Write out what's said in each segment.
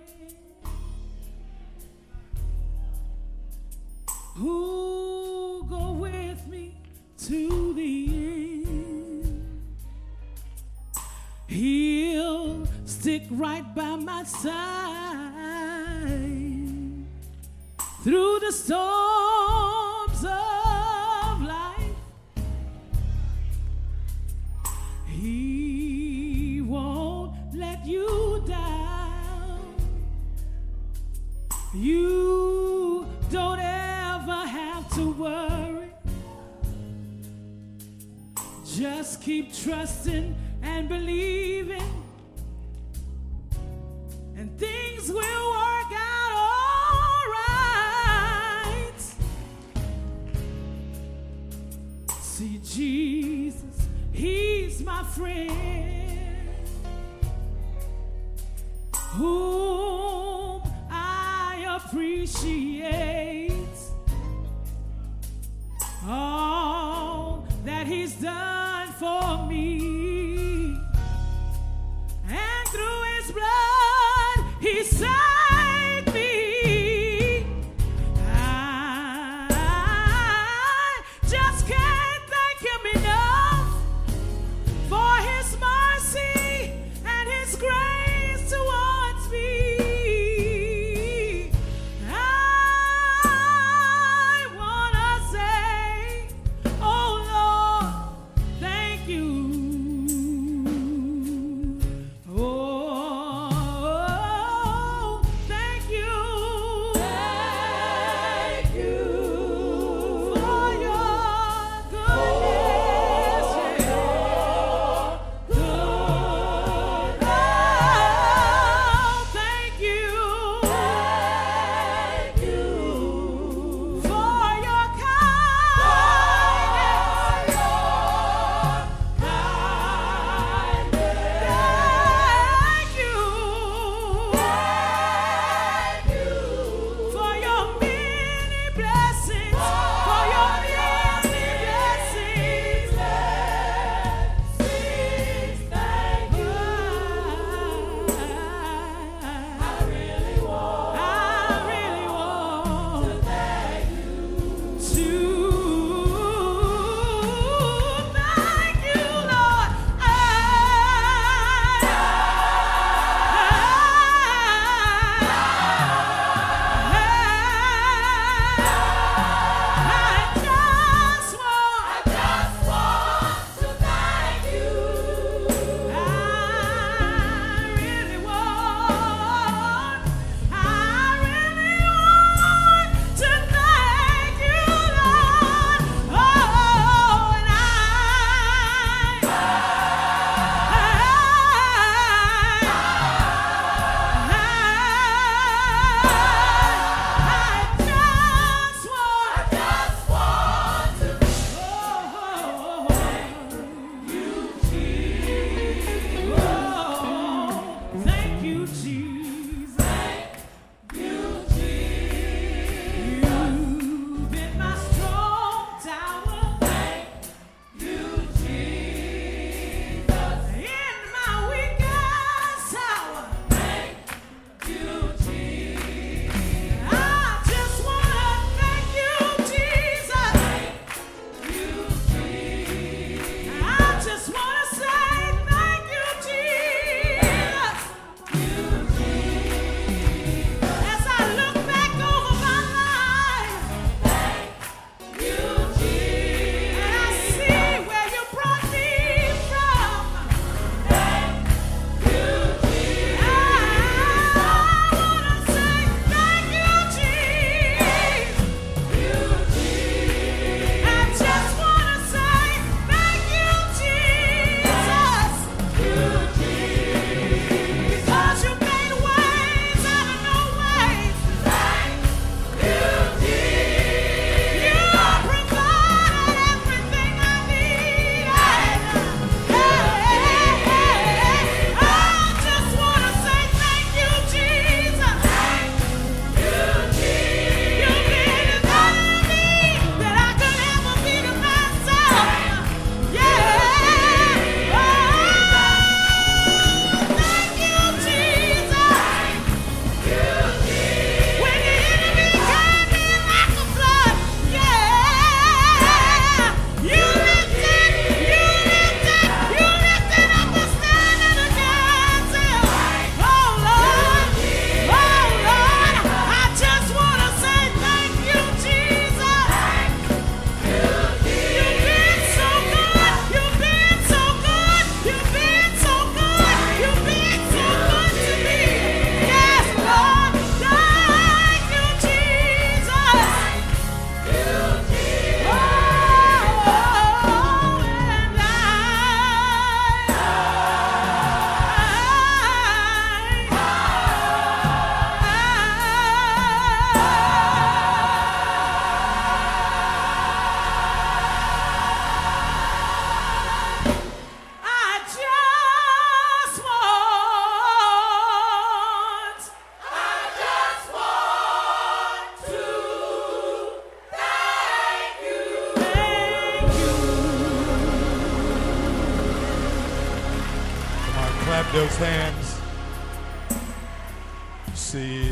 Who go with me to the end? He'll stick right by my side through the storms of life. He won't let you down. You don't ever have to worry. Just keep trusting and believing, and things will work out all right. See, Jesus, he's my friend, whom I appreciate all that he's done for me, and through his blood he saved me. I just can't thank him enough for his mercy and his grace towards me. I Clap those hands. See,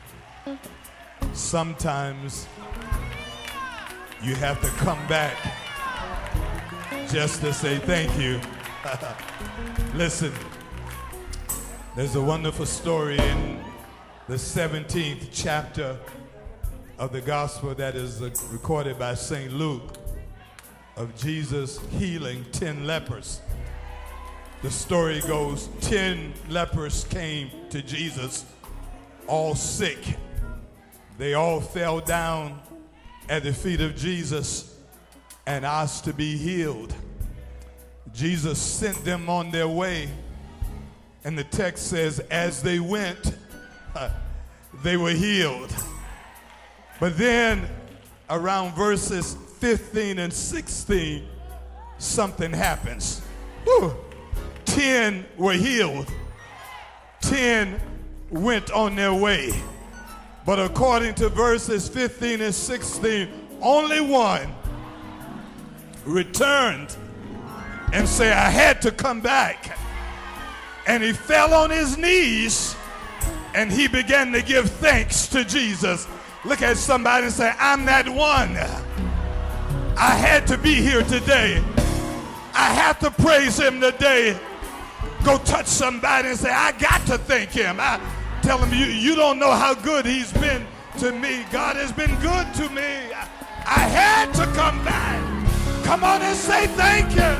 sometimes you have to come back just to say thank you. Listen, there's a wonderful story in the 17th chapter of the gospel that is recorded by St. Luke of Jesus healing 10 lepers. The story goes, 10 lepers came to Jesus, all sick. They all fell down at the feet of Jesus and asked to be healed. Jesus sent them on their way, and the text says, as they went, they were healed. But then, around verses 15 and 16, something happens. Whew. 10 were healed. 10 went on their way. But according to verses 15 and 16, only one returned and said, I had to come back. And he fell on his knees and he began to give thanks to Jesus. Look at somebody and say, I'm that one. I had to be here today. I have to praise him today. Go touch somebody and say, I got to thank him. I tell him, you don't know how good he's been to me. God has been good to me. I had to come back. Come on and say thank you.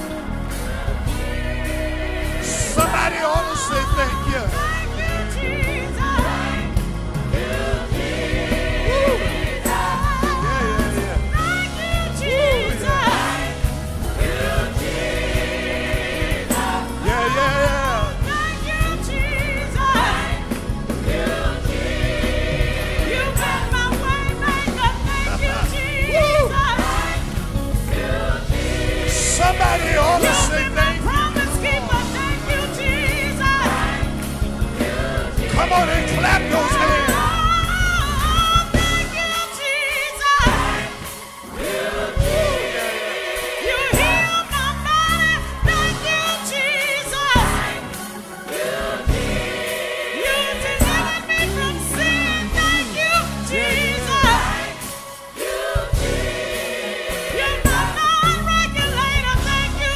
Somebody ought to say thank you. Thank you, Jesus. Thank you, Jesus. Thank you, Jesus. Somebody ought to say thank you. Promise keeper, thank you, Jesus. Come on and clap those hands. Thank you, Jesus. You healed my body. Thank you, Jesus. You delivered me from sin. Thank you, Jesus. You're my non-regulator. Thank you,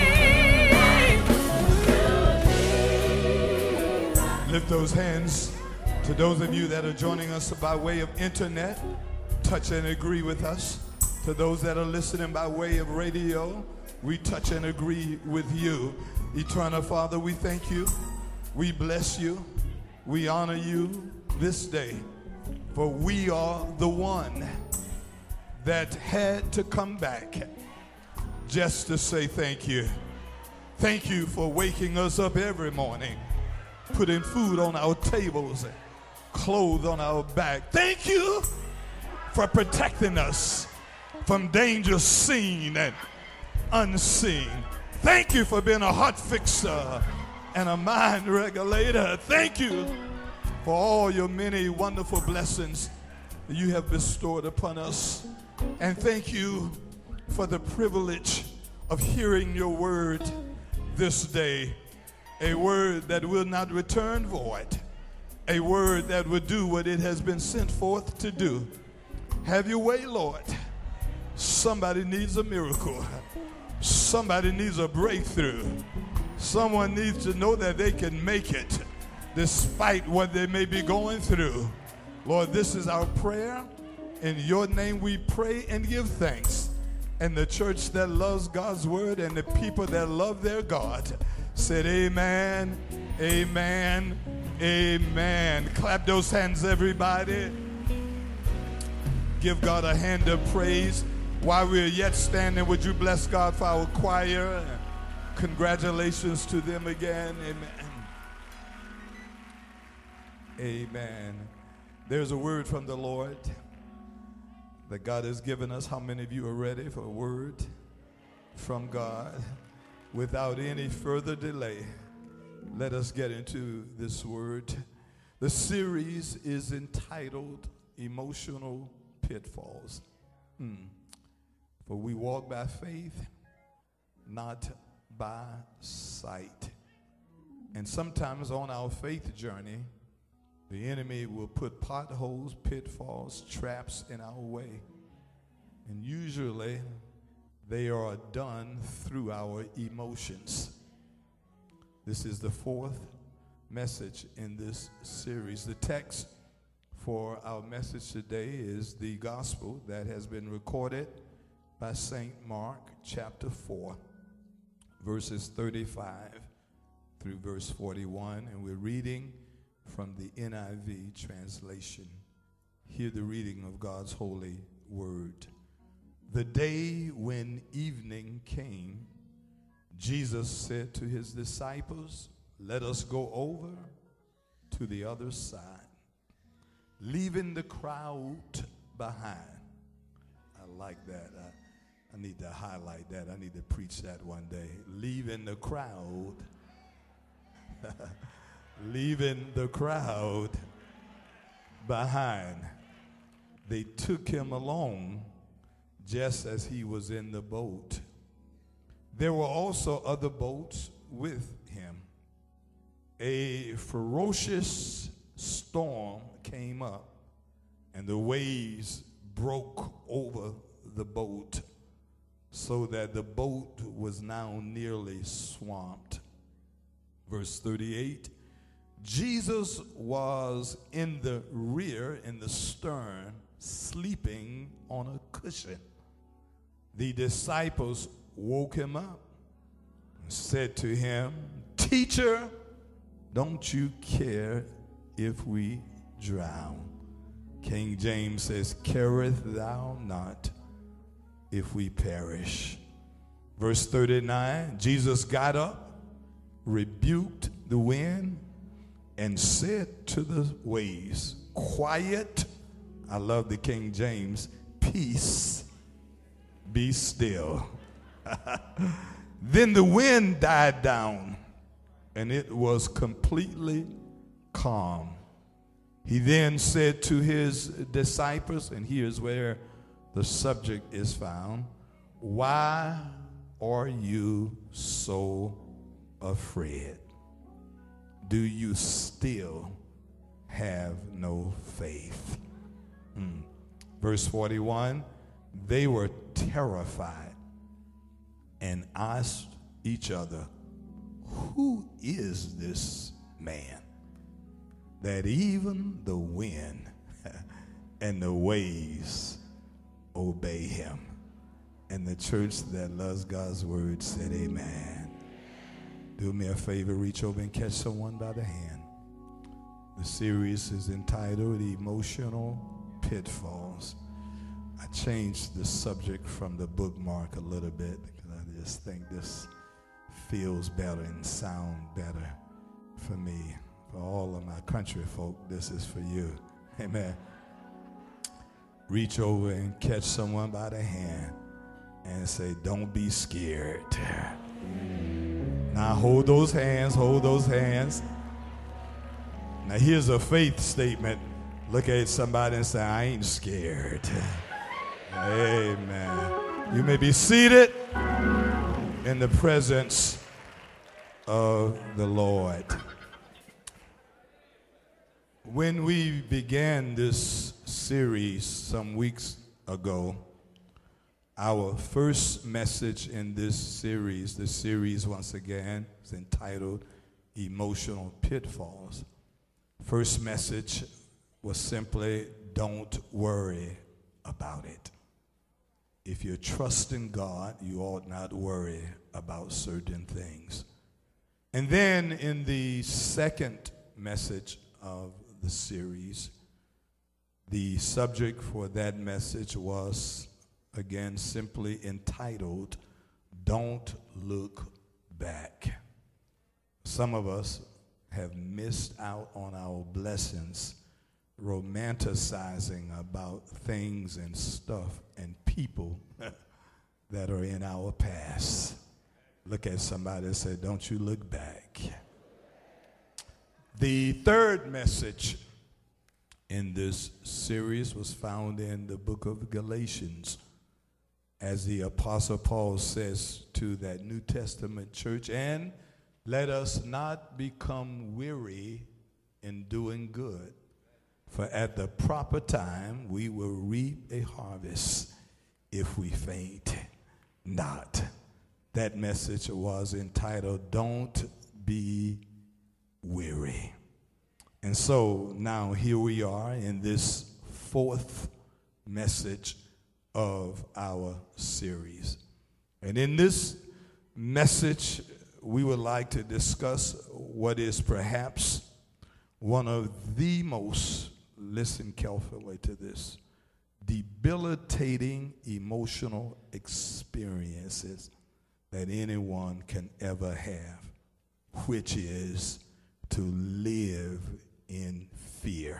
Jesus. Lift those hands. To those of you that are joining us by way of internet, touch and agree with us. To those that are listening by way of radio, we touch and agree with you. Eternal Father, we thank you. We bless you. We honor you this day. For we are the one that had to come back just to say thank you. Thank you for waking us up every morning, putting food on our tables and clothes on our back. Thank you for protecting us from danger seen and unseen. Thank you for being a heart fixer and a mind regulator. Thank you for all your many wonderful blessings that you have bestowed upon us. And thank you for the privilege of hearing your word this day. A word that will not return void. A word that will do what it has been sent forth to do. Have your way, Lord. Somebody needs a miracle. Somebody needs a breakthrough. Someone needs to know that they can make it despite what they may be going through. Lord, this is our prayer. In your name we pray and give thanks. And the church that loves God's word and the people that love their God said amen, amen, amen. Clap those hands, everybody. Give God a hand of praise. While we're yet standing, would you bless God for our choir? Congratulations to them again. Amen. Amen. There's a word from the Lord that God has given us. How many of you are ready for a word from God? Without any further delay, let us get into this word. The series is entitled Emotional Pitfalls. For we walk by faith, not by sight. And sometimes on our faith journey, the enemy will put potholes, pitfalls, traps in our way. And usually they are done through our emotions. This is the fourth message in this series. The text for our message today is the gospel that has been recorded by St. Mark chapter 4, verses 35 through verse 41, and we're reading from the NIV translation. Hear the reading of God's holy word. The day when evening came, Jesus said to his disciples, "Let us go over to the other side," leaving the crowd behind. I like that. I need to highlight that. I need to preach that one day. Leaving the crowd. Leaving the crowd behind. They took him along just as he was in the boat. There were also other boats with him. A ferocious storm came up, and the waves broke over the boat, so that the boat was now nearly swamped. Verse 38, Jesus was in the rear, in the stern, sleeping on a cushion. The disciples woke him up and said to him, "Teacher, don't you care if we drown?" King James says, "Careth thou not if we perish?" Verse 39, Jesus got up, rebuked the wind, and said to the waves, "Quiet," I love the King James, "peace, be still." Then the wind died down, and it was completely calm. He then said to his disciples, and here's where the subject is found, "Why are you so afraid? Do you still have no faith?" Verse 41, they were terrified and asked each other, "Who is this man that even the wind and the waves obey him?" And the church that loves God's word said amen. Do me a favor, reach over and catch someone by the hand. The series is entitled Emotional Pitfalls. I changed the subject from the bookmark a little bit because I just think this feels better and sound better for me. For all of my country folk, this is for you. Amen. Reach over and catch someone by the hand and say, "Don't be scared." Now hold those hands, hold those hands. Now here's a faith statement. Look at somebody and say, "I ain't scared." Amen. You may be seated in the presence of the Lord. When we began this series some weeks ago, our first message in this series, the series once again is entitled Emotional Pitfalls. First message was simply, don't worry about it. If you're trusting God, you ought not worry about certain things. And then in the second message of the series, the subject for that message was, again, simply entitled, Don't Look Back. Some of us have missed out on our blessings, romanticizing about things and stuff and people that are in our past. Look at somebody and say, "Don't you look back." The third message in this series was found in the book of Galatians, as the Apostle Paul says to that New Testament church and Let us not become weary in doing good, for at the proper time we will reap a harvest if we faint not. That message was entitled, Don't Be Weary. And so now here we are in this fourth message of our series. And in this message, we would like to discuss what is perhaps one of the most, listen carefully to this, debilitating emotional experiences that anyone can ever have, which is to live in fear.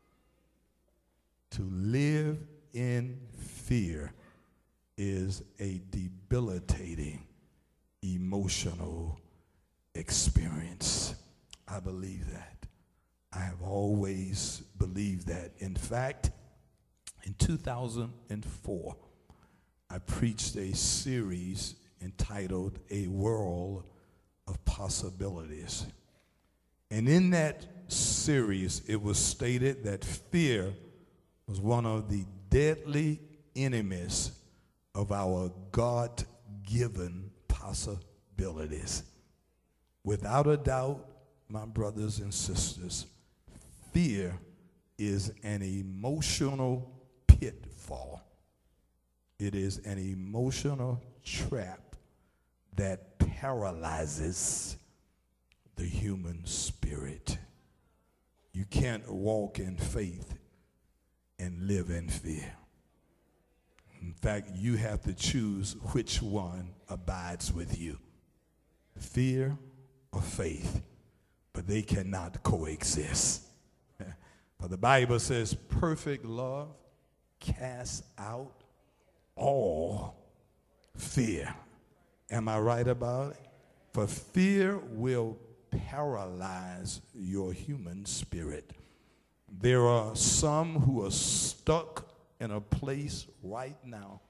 To live in fear is a debilitating emotional experience. I believe that. I have always believed that. In fact, in 2004, I preached a series entitled A World of Possibilities. And in that series, it was stated that fear was one of the deadly enemies of our God-given possibilities. Without a doubt, my brothers and sisters, fear is an emotional pitfall. It is an emotional trap that paralyzes the human spirit. You can't walk in faith and live in fear. In fact, you have to choose which one abides with you, fear or faith, but they cannot coexist. For the Bible says perfect love casts out all fear. Am I right about it? For fear will paralyze your human spirit. There are some who are stuck in a place right now,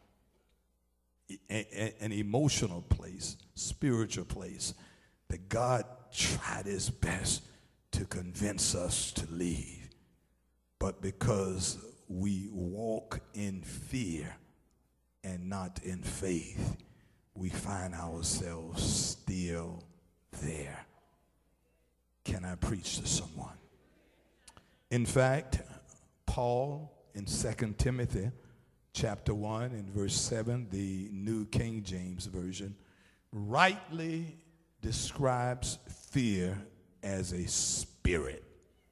an emotional place, spiritual place, that God tried his best to convince us to leave. But because we walk in fear and not in faith, we find ourselves still there. Can I preach to someone? In fact, Paul in 2 Timothy chapter 1 and verse 7, the New King James Version, rightly describes fear as a spirit.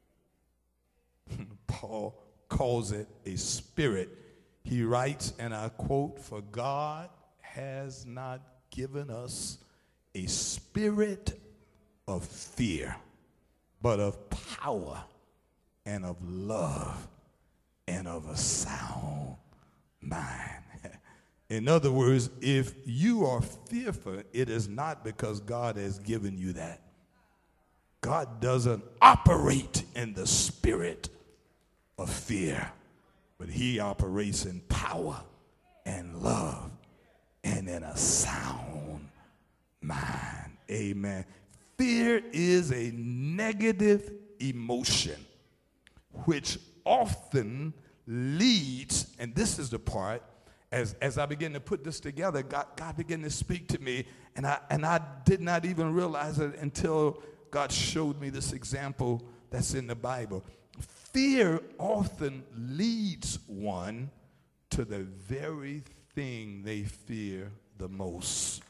Paul calls it a spirit. He writes, and I quote, "For God has not given us a spirit of fear, but of power and of love and of a sound mind." In other words, if you are fearful, it is not because God has given you that. God doesn't operate in the spirit of fear, but he operates in power and love and in a sound mind. Amen. Fear is a negative emotion which often leads, and this is the part, as I begin to put this together, God began to speak to me, and I did not even realize it until God showed me this example that's in the Bible. Fear often leads one to the very thing they fear the most.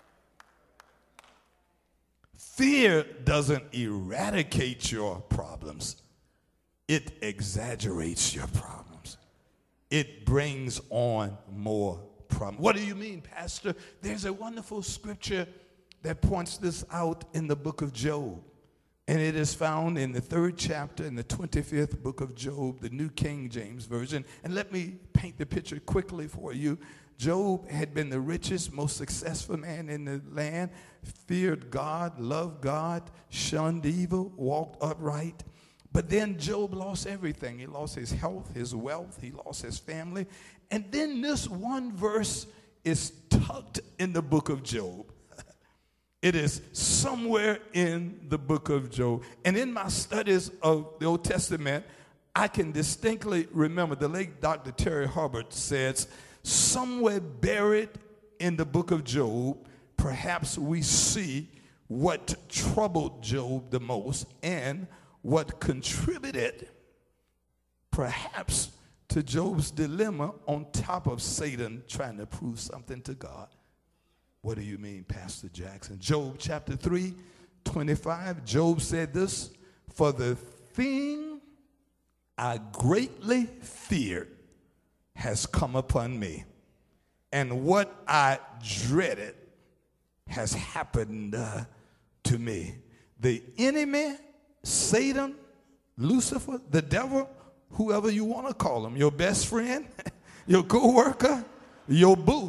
Fear doesn't eradicate your problems. It exaggerates your problems. It brings on more problems. What do you mean, Pastor? There's a wonderful scripture that points this out in the book of Job. And it is found in the 3rd chapter in the 25th book of Job, the New King James Version. And let me paint the picture quickly for you. Job had been the richest, most successful man in the land, feared God, loved God, shunned evil, walked upright. But then Job lost everything. He lost his health, his wealth, he lost his family. And then this one verse is tucked in the book of Job. It is somewhere in the book of Job. And in my studies of the Old Testament, I can distinctly remember the late Dr. Terry Hubbard says, somewhere buried in the book of Job, perhaps we see what troubled Job the most and what contributed perhaps to Job's dilemma on top of Satan trying to prove something to God. What do you mean, Pastor Jackson? Job chapter 3:25, Job said this, for the thing I greatly feared has come upon me, and what I dreaded has happened to me. The enemy, Satan, Lucifer, the devil, whoever you want to call him, your best friend, your co-worker, your boo,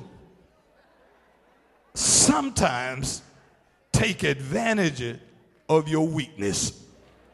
sometimes take advantage of your weakness.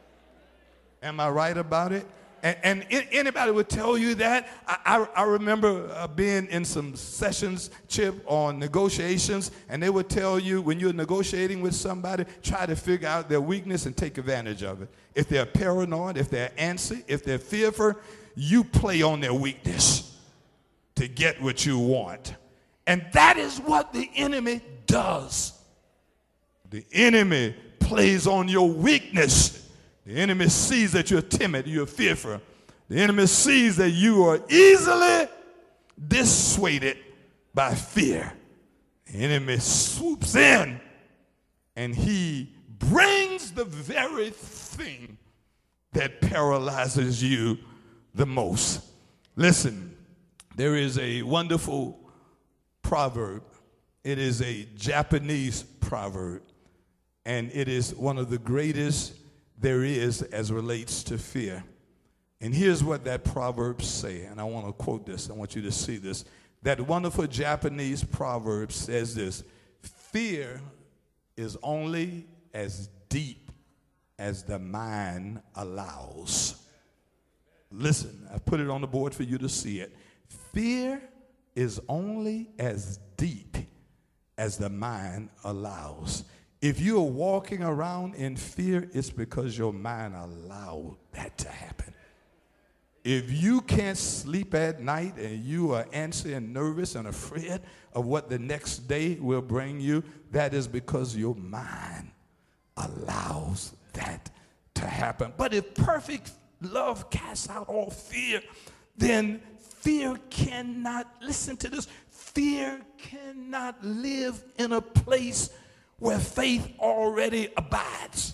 Am I right about it? And anybody would tell you that. I remember being in some sessions, Chip, on negotiations, and they would tell you when you're negotiating with somebody, try to figure out their weakness and take advantage of it. If they're paranoid, if they're antsy, if they're fearful, you play on their weakness to get what you want. And that is what the enemy does. The enemy plays on your weakness. The enemy sees that you're timid, you're fearful. The enemy sees that you are easily dissuaded by fear. The enemy swoops in and he brings the very thing that paralyzes you the most. Listen, there is a wonderful proverb. It is a Japanese proverb, and it is one of the greatest there is as relates to fear. And here's what that proverb says, and I want to quote this. I want you to see this. That wonderful Japanese proverb says this: fear is only as deep as the mind allows. Listen, I put it on the board for you to see it. Fear is only as deep as the mind allows. If you're walking around in fear, it's because your mind allowed that to happen. If you can't sleep at night and you are anxious and nervous and afraid of what the next day will bring you, that is because your mind allows that to happen. But if perfect love casts out all fear, then fear cannot, listen to this, fear cannot live in a place where faith already abides.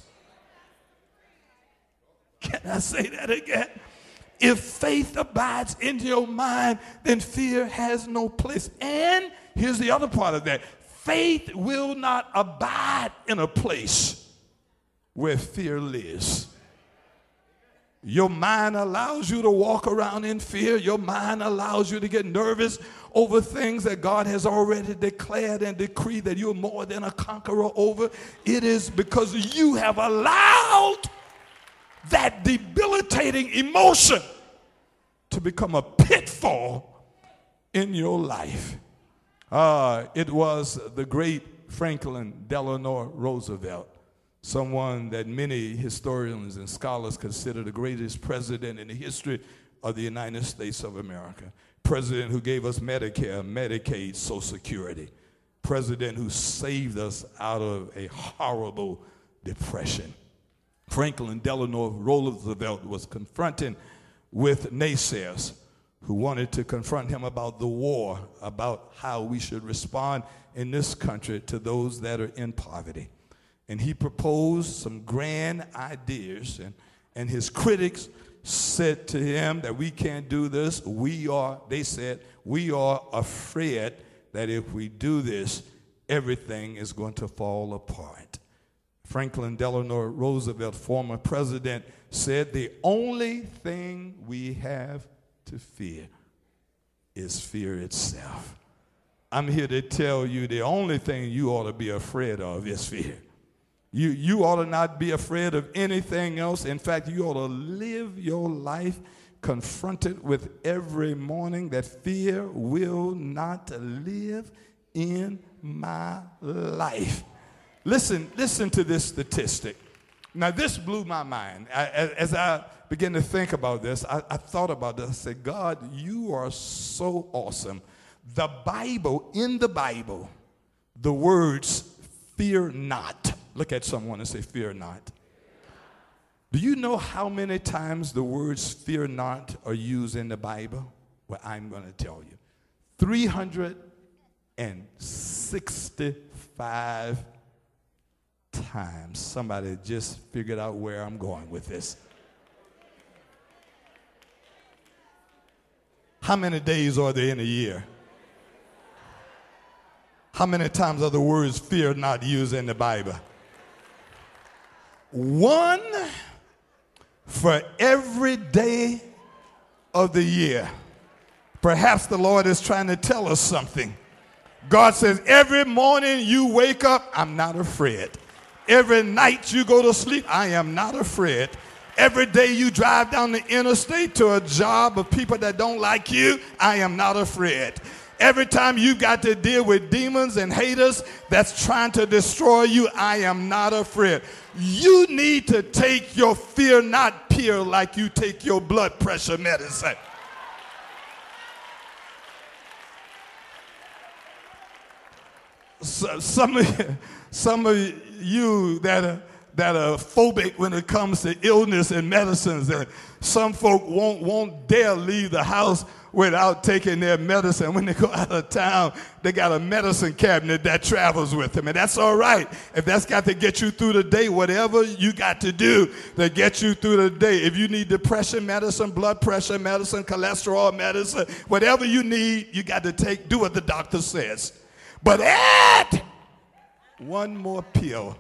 Can I say that again? If faith abides in your mind, then fear has no place. And here's the other part of that. Faith will not abide in a place where fear lives. Your mind allows you to walk around in fear. Your mind allows you to get nervous over things that God has already declared and decreed that you're more than a conqueror over. It is because you have allowed that debilitating emotion to become a pitfall in your life. It was the great Franklin Delano Roosevelt, someone that many historians and scholars consider the greatest president in the history of the United States of America. President who gave us Medicare, Medicaid, Social Security. President who saved us out of a horrible depression. Franklin Delano Roosevelt was confronting with naysayers who wanted to confront him about the war, about how we should respond in this country to those that are in poverty. And he proposed some grand ideas, and his critics said to him that we can't do this. They said, we are afraid that if we do this, everything is going to fall apart. Franklin Delano Roosevelt, former president, said the only thing we have to fear is fear itself. I'm here to tell you the only thing you ought to be afraid of is fear. You ought to not be afraid of anything else. In fact, you ought to live your life confronted with every morning that fear will not live in my life. Listen to this statistic. Now, this blew my mind. As I began to think about this, I thought about this. I said, God, you are so awesome. The Bible, in the Bible, the words fear not. Look at someone and say, fear not. Do you know how many times the words fear not are used in the Bible? Well, I'm going to tell you. 365 times. Somebody just figured out where I'm going with this. How many days are there in a year? How many times are the words fear not used in the Bible? One for every day of the year. Perhaps the Lord is trying to tell us something. God says, every morning you wake up, I'm not afraid. Every night you go to sleep, I am not afraid. Every day you drive down the interstate to a job of people that don't like you, I am not afraid. Every time you got to deal with demons and haters that's trying to destroy you, I am not afraid. You need to take your fear not pill like you take your blood pressure medicine. So, some of you that are phobic when it comes to illness and medicines, and some folk won't dare leave the house without taking their medicine. When they go out of town, they got a medicine cabinet that travels with them, and that's all right. If that's got to get you through the day, whatever you got to do to get you through the day. If you need depression medicine, blood pressure medicine, cholesterol medicine, whatever you need, you got to do what the doctor says. But add one more pill.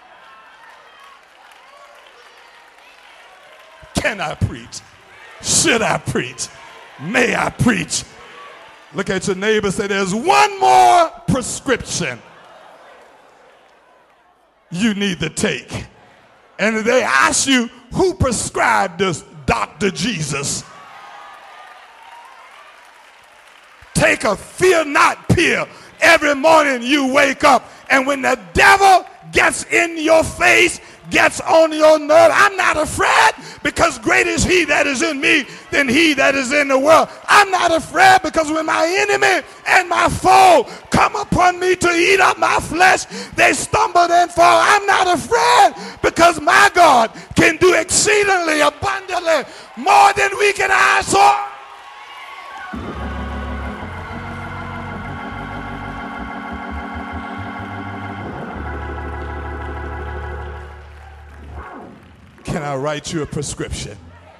Can I preach? Should I preach? May I preach? Look at your neighbor and say, there's one more prescription you need to take. And if they ask you, who prescribed this? Dr. Jesus. Take a fear not pill. Every morning you wake up, and when the devil gets in your face, gets on your nerve, I'm not afraid, because great is he that is in me than he that is in the world. I'm not afraid, because when my enemy and my foe come upon me to eat up my flesh, they stumble and fall. I'm not afraid, because my God can do exceedingly abundantly more than we can ask or. Can I write you a prescription?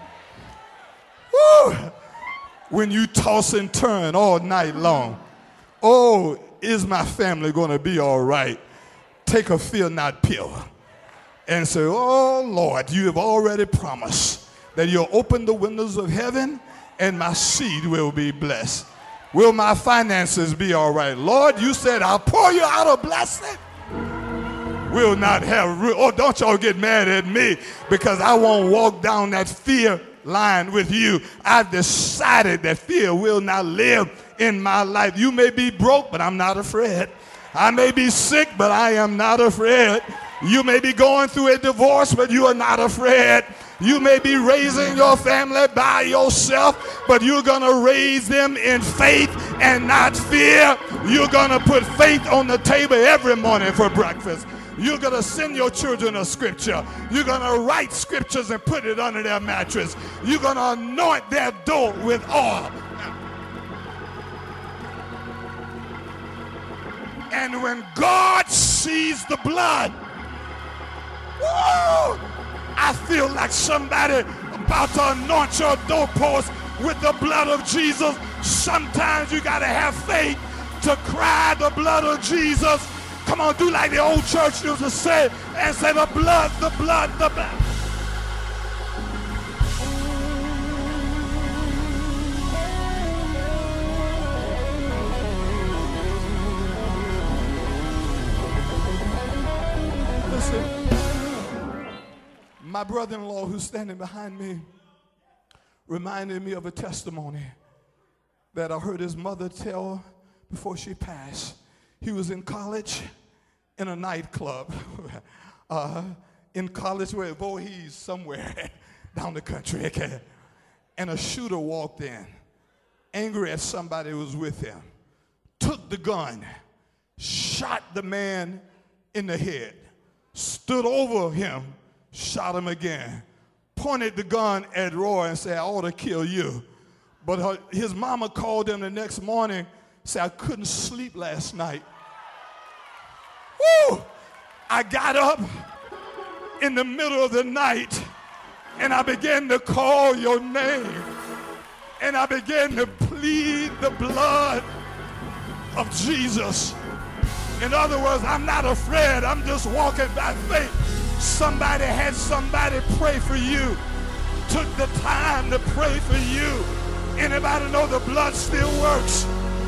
Woo! When you toss and turn all night long, oh, is my family going to be all right? Take a fear not pill and say, oh, Lord, you have already promised that you'll open the windows of heaven and my seed will be blessed. Will my finances be all right? Lord, you said I'll pour you out a blessing. Will not have, oh, don't y'all get mad at me, because I won't walk down that fear line with you. I've decided that fear will not live in my life. You may be broke, but I'm not afraid. I may be sick, but I am not afraid. You may be going through a divorce, but you are not afraid. You may be raising your family by yourself, but you're going to raise them in faith and not fear. You're going to put faith on the table every morning for breakfast. You're going to send your children a scripture. You're going to write scriptures and put it under their mattress. You're going to anoint their door with oil. And when God sees the blood, woo, I feel like somebody about to anoint your doorpost with the blood of Jesus. Sometimes you got to have faith to cry the blood of Jesus. Come on, do like the old church used to say, and say the blood, the blood, the blood. Listen, my brother-in-law who's standing behind me reminded me of a testimony that I heard his mother tell before she passed. He was in college, in a nightclub in College Way, Voorhees, somewhere down the country. Okay? And a shooter walked in, angry at somebody who was with him, took the gun, shot the man in the head, stood over him, shot him again, pointed the gun at Roy and said, I ought to kill you. But his mama called him the next morning, said, I couldn't sleep last night. Woo! I got up in the middle of the night and I began to call your name and I began to plead the blood of Jesus. In other words, I'm not afraid, I'm just walking by faith. Somebody had somebody pray for you, took the time to pray for you. Anybody know the blood still works?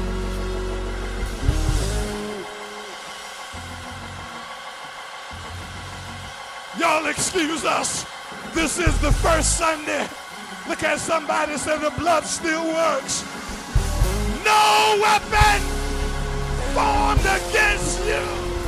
Y'all excuse us. This is the first Sunday. Look at somebody and say the blood still works. No weapon formed against you.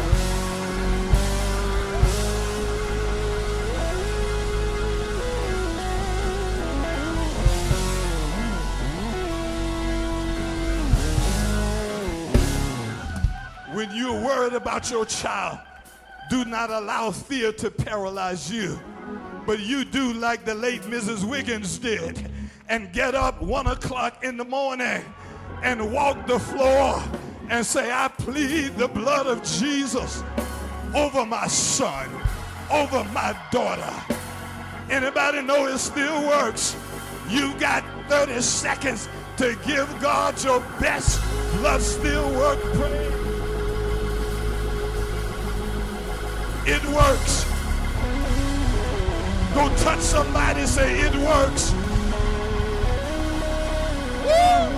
When you're worried about your child, do not allow fear to paralyze you. But you do like the late Mrs. Wiggins did and get up 1 o'clock in the morning and walk the floor and say, I plead the blood of Jesus over my son, over my daughter. Anybody know it still works? You got 30 seconds to give God your best blood still work praise. It works. Go touch somebody and say, it works. Woo!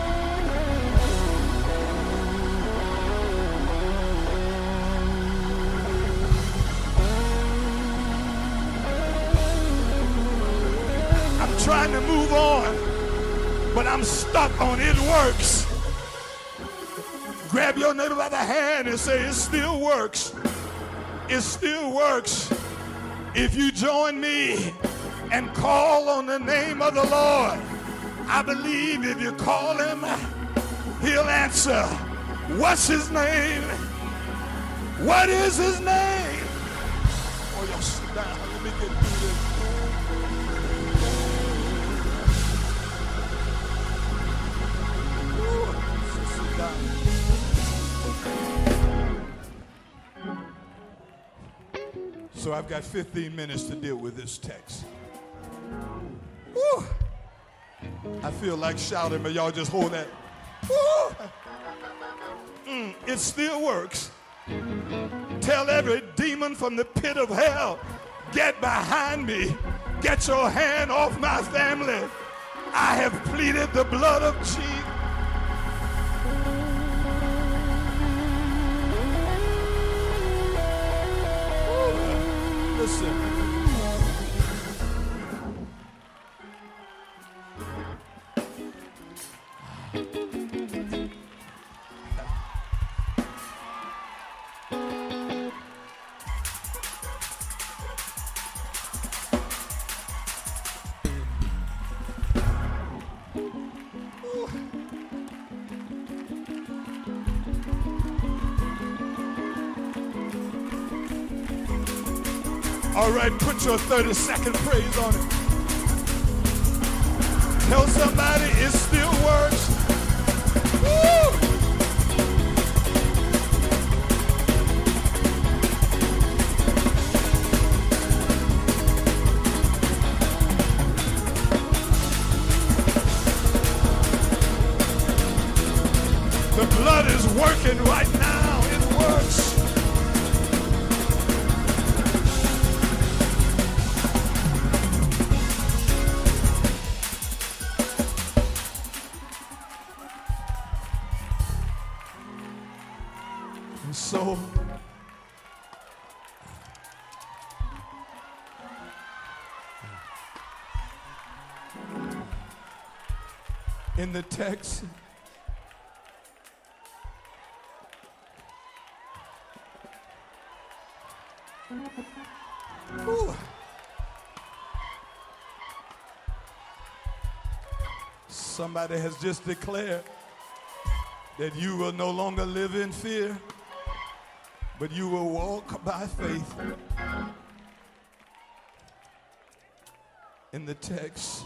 I'm trying to move on, but I'm stuck on it works. Grab your neighbor by the hand and say, it still works. It still works. If you join me and call on the name of the Lord, I believe if you call him, he'll answer. What's his name? What is his name? Oh, y'all sit down. Let me get through this. Ooh, sit down. So I've got 15 minutes to deal with this text. Woo! I feel like shouting, but y'all just hold that. Woo! It still works. Tell every demon from the pit of hell, get behind me. Get your hand off my family. I have pleaded the blood of Jesus. Listen. All right, put your 30-second praise on it. Tell somebody it still works. Woo! The blood is working right now. It works. So, in the text, Ooh. Somebody has just declared that you will no longer live in fear, but you will walk by faith. In the text,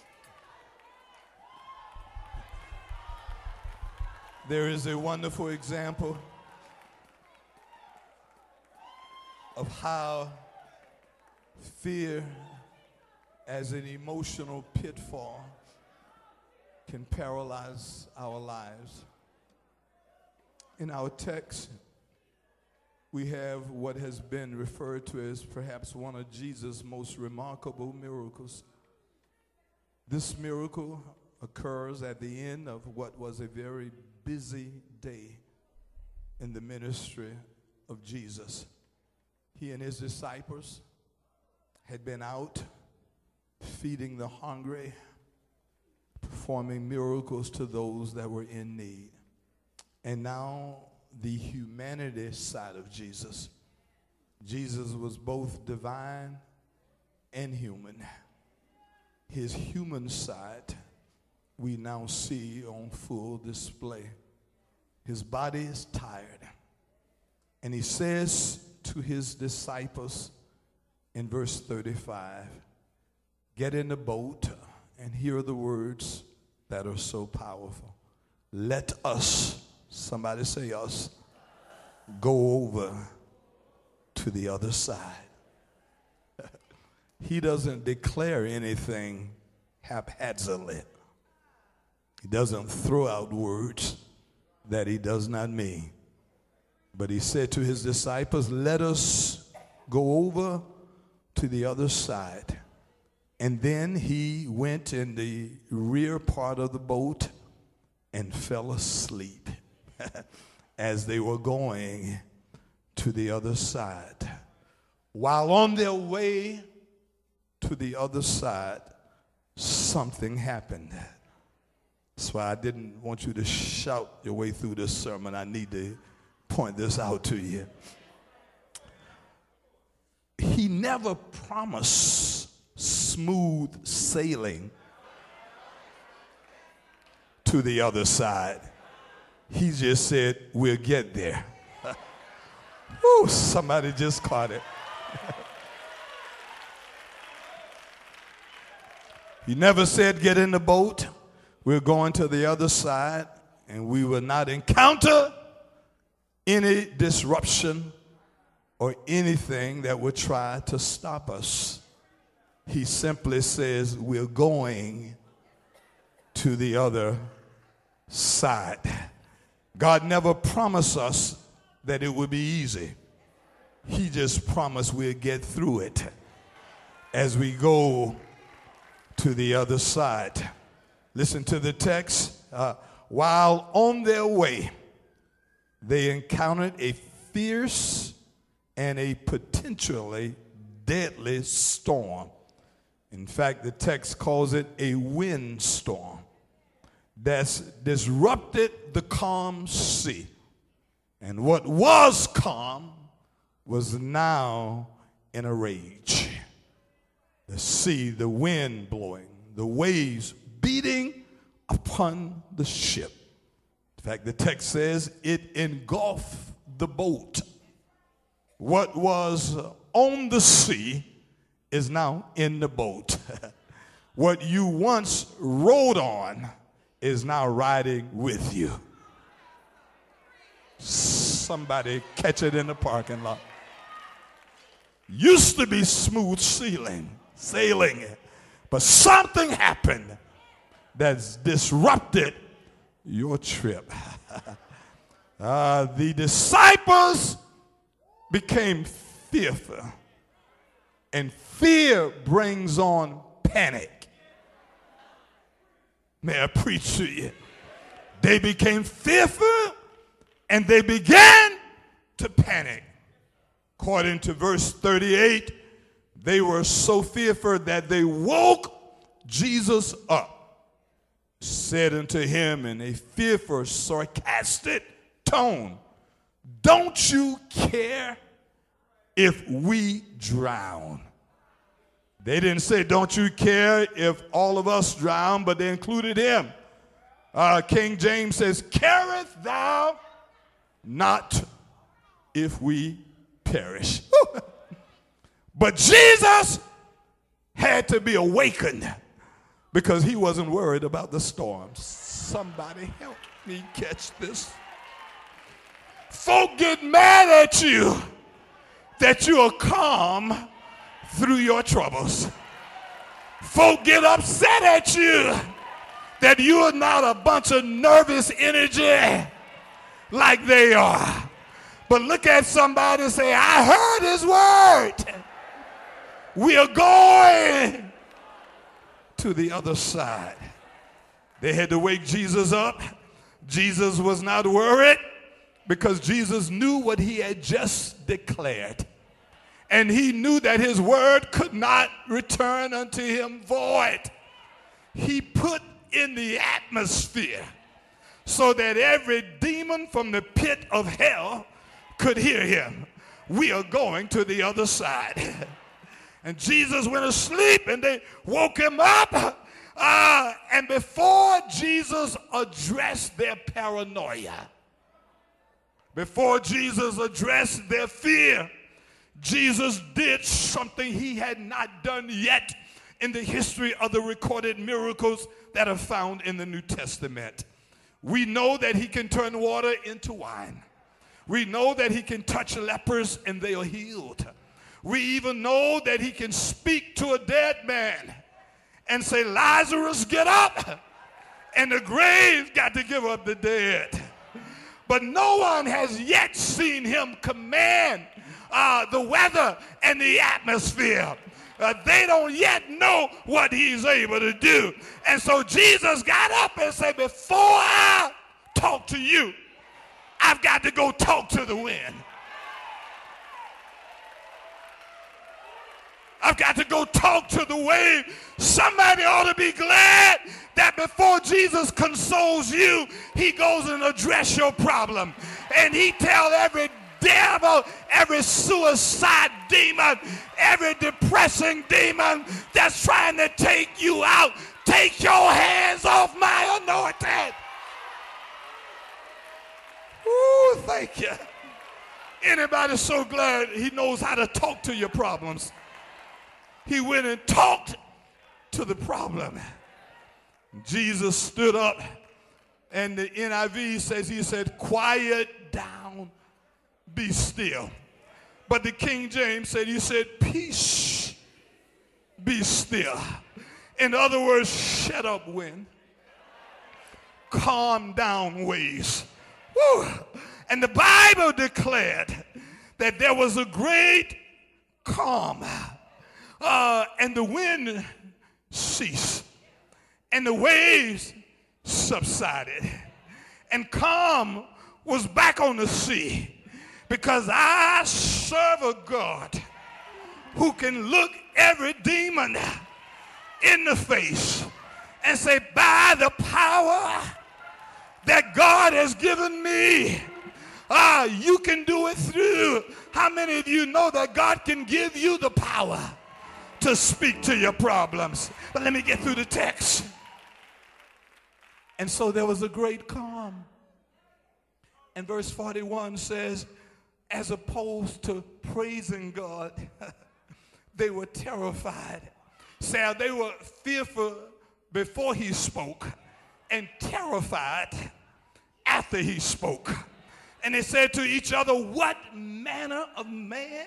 there is a wonderful example of how fear as an emotional pitfall can paralyze our lives. In our text, we have what has been referred to as perhaps one of Jesus' most remarkable miracles. This miracle occurs at the end of what was a very busy day in the ministry of Jesus. He and his disciples had been out feeding the hungry, performing miracles to those that were in need. And now the humanity side of Jesus. Jesus was both divine and human. His human side we now see on full display. His body is tired. And he says to his disciples in verse 35, get in the boat and hear the words that are so powerful. Let us, somebody say us, go over to the other side. He doesn't declare anything haphazardly. He doesn't throw out words that he does not mean. But he said to his disciples, let us go over to the other side. And then he went in the rear part of the boat and fell asleep as they were going to the other side. While on their way to the other side, something happened. That's why I didn't want you to shout your way through this sermon. I need to point this out to you. He never promised smooth sailing to the other side. He just said, we'll get there. Ooh, somebody just caught it. He never said, get in the boat. We're going to the other side, and we will not encounter any disruption or anything that would try to stop us. He simply says, we're going to the other side. God never promised us that it would be easy. He just promised we'll get through it as we go to the other side. Listen to the text. While on their way, they encountered a fierce and a potentially deadly storm. In fact, the text calls it a windstorm that's disrupted the calm sea. And what was calm was now in a rage. The sea, the wind blowing, the waves beating upon the ship. In fact, the text says it engulfed the boat. What was on the sea is now in the boat. What you once rode on is now riding with you. Somebody catch it in the parking lot. Used to be smooth sailing, but something happened that's disrupted your trip. The disciples became fearful, and fear brings on panic. May I preach to you? They became fearful, and they began to panic. According to verse 38, they were so fearful that they woke Jesus up, said unto him in a fearful, sarcastic tone, don't you care if we drown. They didn't say, don't you care if all of us drown, but they included him. King James says, carest thou not if we perish. But Jesus had to be awakened because he wasn't worried about the storms. Somebody help me catch this. Folk get mad at you that you are calm through your troubles. Folk get upset at you that you are not a bunch of nervous energy like they are. But look at somebody and say, I heard his word. We are going to the other side. They had to wake Jesus up. Jesus was not worried because Jesus knew what he had just declared. And he knew that his word could not return unto him void. He put in the atmosphere so that every demon from the pit of hell could hear him. We are going to the other side. And Jesus went asleep and they woke him up. And before Jesus addressed their paranoia, before Jesus addressed their fear, Jesus did something he had not done yet in the history of the recorded miracles that are found in the New Testament. We know that he can turn water into wine. We know that he can touch lepers and they are healed. We even know that he can speak to a dead man and say, Lazarus, get up. And the grave got to give up the dead. But no one has yet seen him command the weather and the atmosphere. They don't yet know what he's able to do. And so Jesus got up and said, before I talk to you, I've got to go talk to the wind. I've got to go talk to the wave. Somebody ought to be glad that before Jesus consoles you, he goes and address your problem. And he tells every devil, every suicide demon, every depressing demon that's trying to take you out, take your hands off my anointed. Ooh, thank you. Anybody so glad he knows how to talk to your problems? He went and talked to the problem. Jesus stood up, and the NIV says, he said, quiet down, be still. But the King James said, he said, peace, be still. In other words, shut up, wind. Calm down, waves. Woo. And the Bible declared that there was a great calm. And the wind ceased, and the waves subsided, and calm was back on the sea, because I serve a God who can look every demon in the face and say, by the power that God has given me, you can do it through. How many of you know that God can give you the power to speak to your problems? But let me get through the text. And so there was a great calm. And verse 41 says, as opposed to praising God, they were terrified. So they were fearful before he spoke and terrified after he spoke. And they said to each other, what manner of man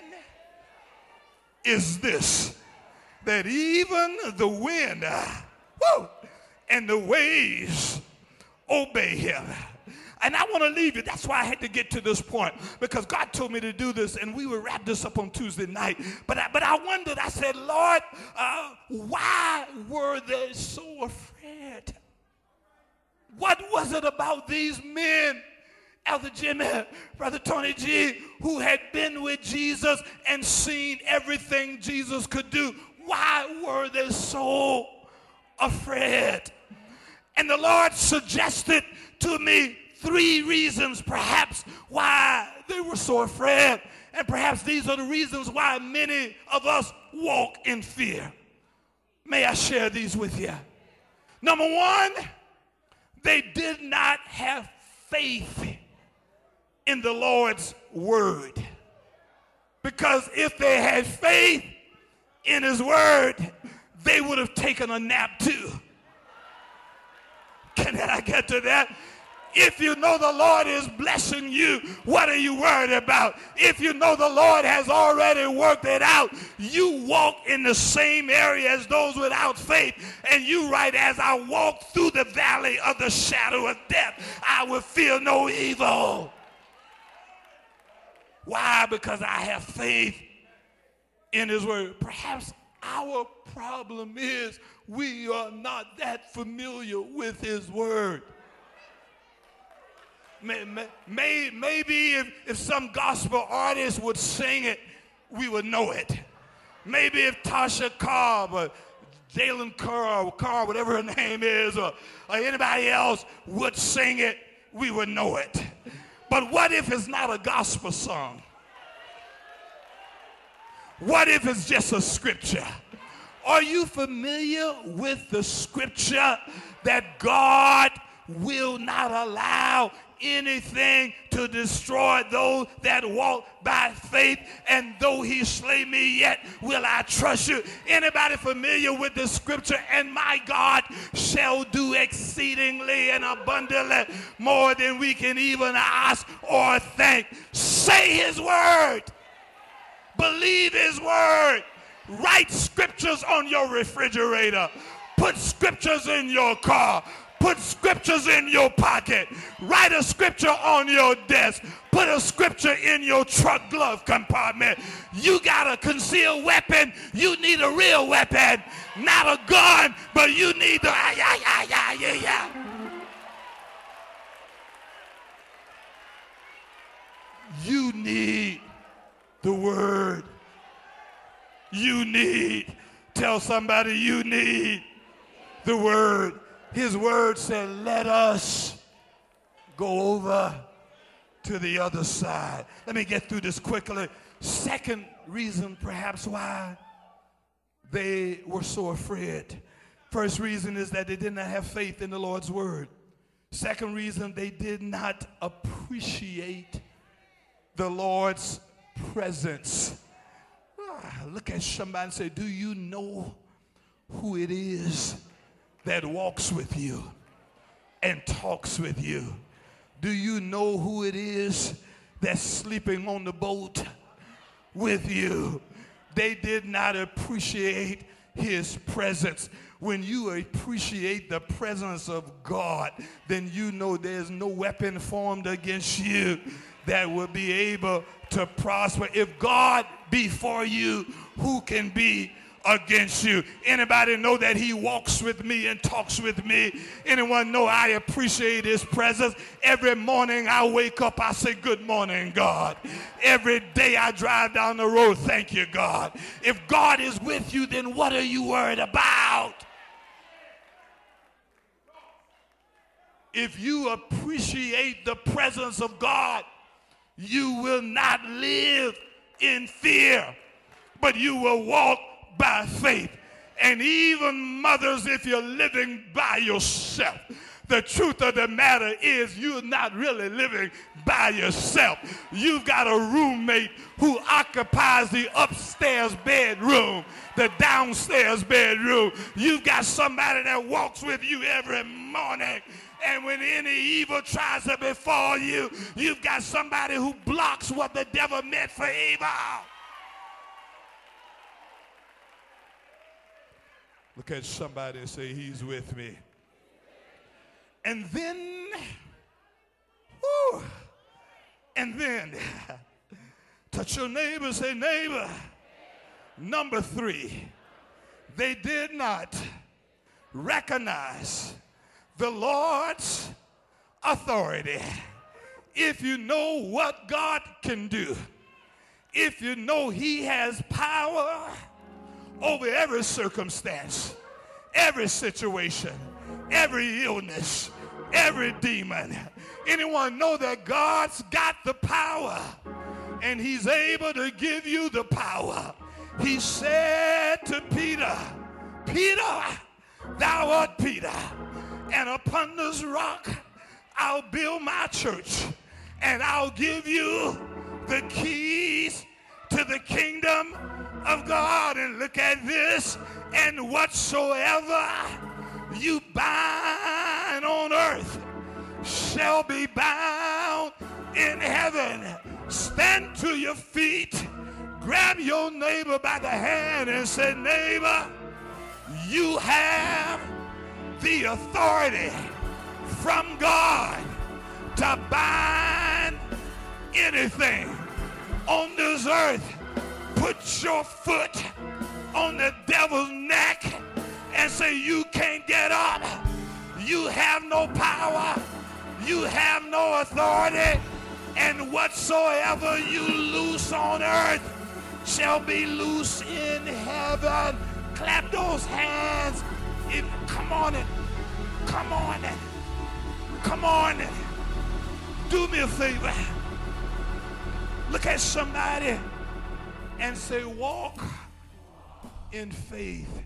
is this, that even the wind and the waves obey him? And I want to leave you. That's why I had to get to this point, because God told me to do this, and we would wrap this up on Tuesday night. But I wondered, I said, Lord, why were they so afraid? What was it about these men, Elder Jimmy, Brother Tony G, who had been with Jesus and seen everything Jesus could do? Why were they so afraid? And the Lord suggested to me 3 reasons perhaps why they were so afraid. And perhaps these are the reasons why many of us walk in fear. May I share these with you? Number one, they did not have faith in the Lord's word. Because if they had faith in his word, they would have taken a nap too. Can I get to that? If you know the Lord is blessing you, what are you worried about? If you know the Lord has already worked it out, you walk in the same area as those without faith. And you write, as I walk through the valley of the shadow of death, I will fear no evil. Why? Because I have faith in his word. Perhaps our problem is we are not that familiar with his word. Maybe if some gospel artist would sing it, we would know it. Maybe if Tasha Cobb or Jalen Carr, whatever her name is, or anybody else would sing it, we would know it. But what if it's not a gospel song? What if it's just a scripture? Are you familiar with the scripture that God will not allow anything to destroy those that walk by faith, and though he slay me, yet will I trust you? Anybody familiar with the scripture? And my God shall do exceedingly and abundantly more than we can even ask or think. Say his word. Believe his word. Write scriptures on your refrigerator. Put scriptures in your car. Put scriptures in your pocket. Write a scripture on your desk. Put a scripture in your truck glove compartment. You got a concealed weapon. You need a real weapon. Not a gun, but you need the You need the word. You need. Tell somebody you need the word. His word said, let us go over to the other side. Let me get through this quickly. Second reason perhaps why they were so afraid. First reason is that they did not have faith in the Lord's word. Second reason, they did not appreciate the Lord's presence. Look at somebody and say, do you know who it is that walks with you and talks with you? Do you know who it is that's sleeping on the boat with you? They did not appreciate his presence. When you appreciate the presence of God, then you know there's no weapon formed against you that will be able to prosper. If God be for you, who can be against you? Anybody know that he walks with me and talks with me? Anyone know I appreciate his presence? Every morning I wake up, I say, good morning, God. Every day I drive down the road, thank you, God. If God is with you, then what are you worried about? If you appreciate the presence of God, you will not live in fear, but you will walk by faith. And even mothers, if you're living by yourself, the truth of the matter is you're not really living by yourself. You've got a roommate who occupies the upstairs bedroom, the downstairs bedroom. You've got somebody that walks with you every morning. And when any evil tries to befall you, you've got somebody who blocks what the devil meant for evil. Look at somebody and say, he's with me. And then, touch your neighbor, say, neighbor. Number three, they did not recognize the Lord's authority. If you know what God can do, if you know he has power over every circumstance, every situation, every illness, every demon. Anyone know that God's got the power and he's able to give you the power. He said to Peter, Peter, thou art Peter, and upon this rock I'll build my church, and I'll give you the keys to the kingdom of God. And look at this, and whatsoever you bind on earth shall be bound in heaven. Stand to your feet, grab your neighbor by the hand and say, neighbor, you have the authority from God to bind anything on this earth. Put your foot on the devil's neck and say, you can't get up. You have no power. You have no authority. And whatsoever you loose on earth shall be loose in heaven. Clap those hands. Come on it. Come on it. Come on it. Do me a favor. Look at somebody and say, walk in faith,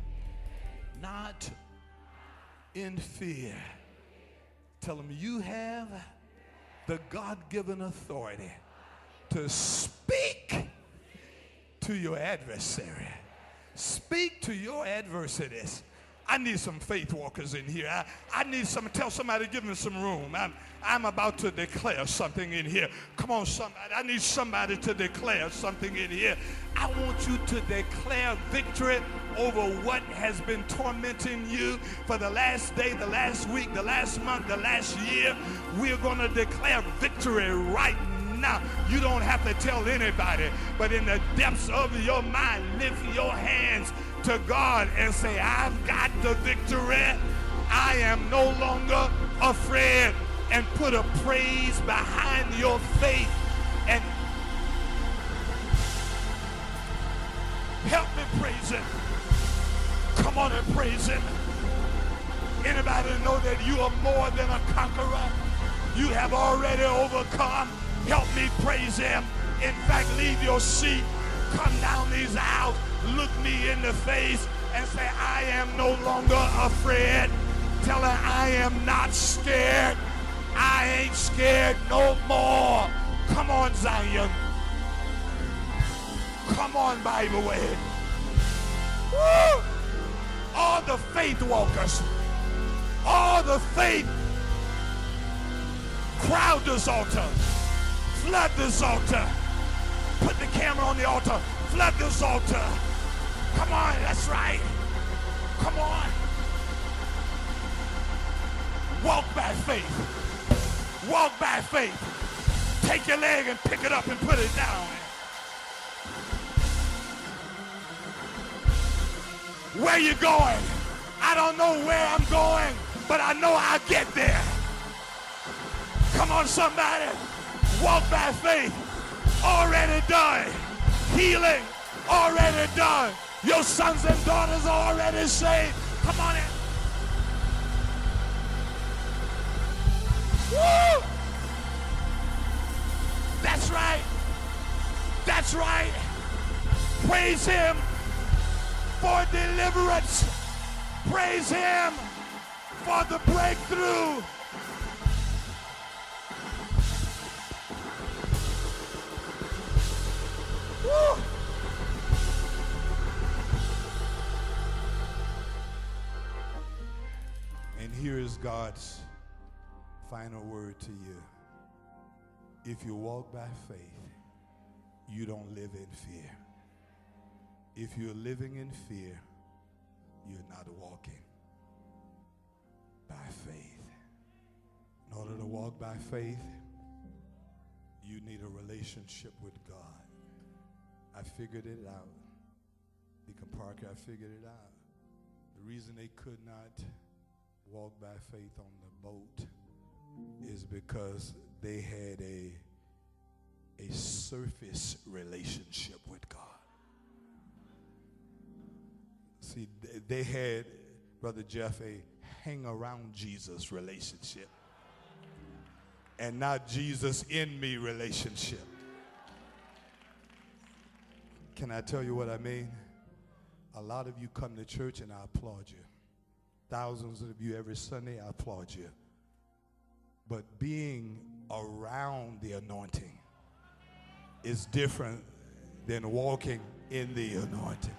not in fear. Tell them you have the God-given authority to speak to your adversary. Speak to your adversities. I need some faith walkers in here. I need tell somebody, give me some room. I'm about to declare something in here. Come on, somebody. I need somebody to declare something in here. I want you to declare victory over what has been tormenting you for the last day, the last week, the last month, the last year. We're going to declare victory right now. You don't have to tell anybody, but in the depths of your mind, lift your hands to God and say, I've got the victory. I am no longer afraid. And put a praise behind your faith and help me praise him. Come on and praise him. Anybody know that you are more than a conqueror? You have already overcome. Help me praise him. In fact, leave your seat. Come down these aisles. Look me in the face and say, I am no longer afraid. Tell her I am not scared. I ain't scared no more. Come on, Zion. Come on, Bible Way. Woo! All the faith walkers, all the faith, crowd this altar, flood this altar, put the camera on the altar, flood this altar. Come on, that's right. Come on. Walk by faith. Walk by faith. Take your leg and pick it up and put it down. Where you going? I don't know where I'm going, but I know I'll get there. Come on, somebody. Walk by faith. Already done. Healing already done. Your sons and daughters are already saved. Come on in. Woo! That's right. That's right. Praise him for deliverance. Praise him for the breakthrough. Woo! And here is God's final word to you. If you walk by faith, you don't live in fear. If you're living in fear, you're not walking by faith. In order to walk by faith, you need a relationship with God. I figured it out. Deacon Parker, I figured it out. The reason they could not walk by faith on the boat is because they had a surface relationship with God. See, they had, Brother Jeff, a hang around Jesus relationship and not Jesus in me relationship. Can I tell you what I mean? A lot of you come to church and I applaud you. Thousands of you every Sunday, I applaud you. But being around the anointing is different than walking in the anointing.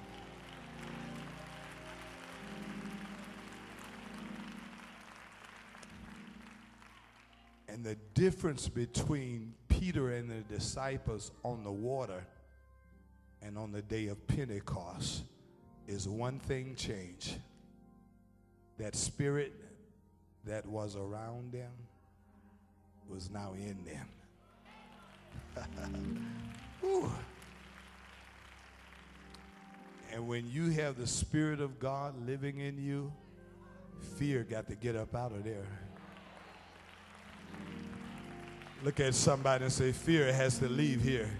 And the difference between Peter and the disciples on the water and on the day of Pentecost is one thing changed. That spirit that was around them was now in them. Whew. And when you have the Spirit of God living in you, fear got to get up out of there. Look at somebody and say, fear has to leave here.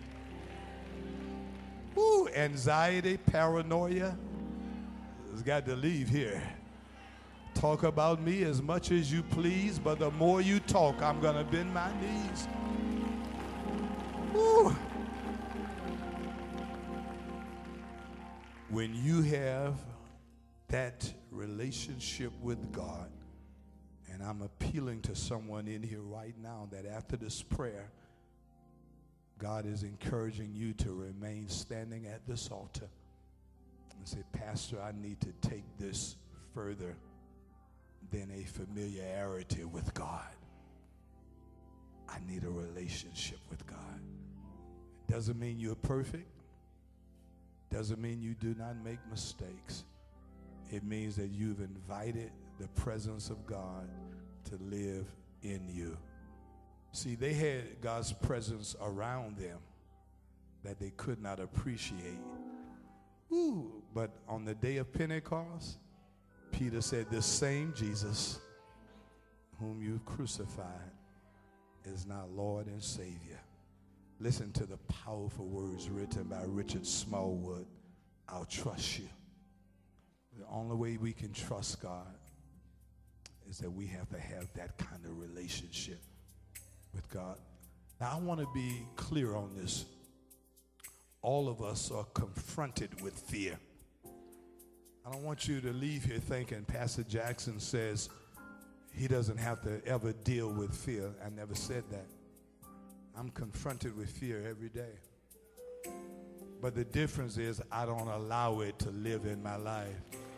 Woo, anxiety, paranoia has got to leave here. Talk about me as much as you please, but the more you talk, I'm going to bend my knees. Woo. When you have that relationship with God, and I'm appealing to someone in here right now that after this prayer, God is encouraging you to remain standing at this altar and say, Pastor, I need to take this further than a familiarity with God. I need a relationship with God. Doesn't mean you're perfect. Doesn't mean you do not make mistakes. It means that you've invited the presence of God to live in you. See, they had God's presence around them that they could not appreciate. Ooh, but on the day of Pentecost, Peter said, this same Jesus whom you've crucified is now Lord and Savior. Listen to the powerful words written by Richard Smallwood. I'll trust you. The only way we can trust God is that we have to have that kind of relationship with God. Now, I want to be clear on this. All of us are confronted with fear. I don't want you to leave here thinking Pastor Jackson says he doesn't have to ever deal with fear. I never said that. I'm confronted with fear every day. But the difference is I don't allow it to live in my life.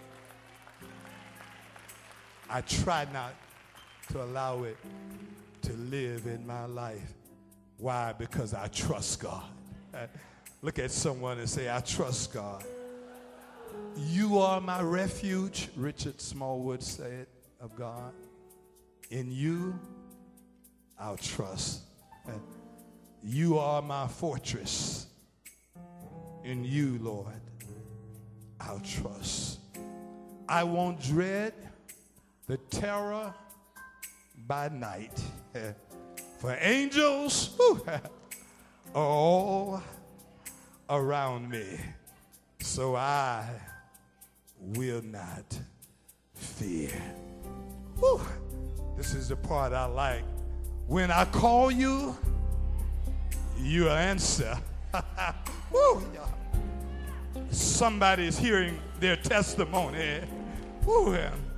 I try not to allow it to live in my life. Why? Because I trust God. Look at someone and say, I trust God. You are my refuge, Richard Smallwood said of God. In you, I'll trust. You are my fortress. In you, Lord, I'll trust. I won't dread the terror by night. For angels are all around me. So I will not fear. Whew. This is the part I like. When I call you, you answer. Woo. Somebody is hearing their testimony. Woo.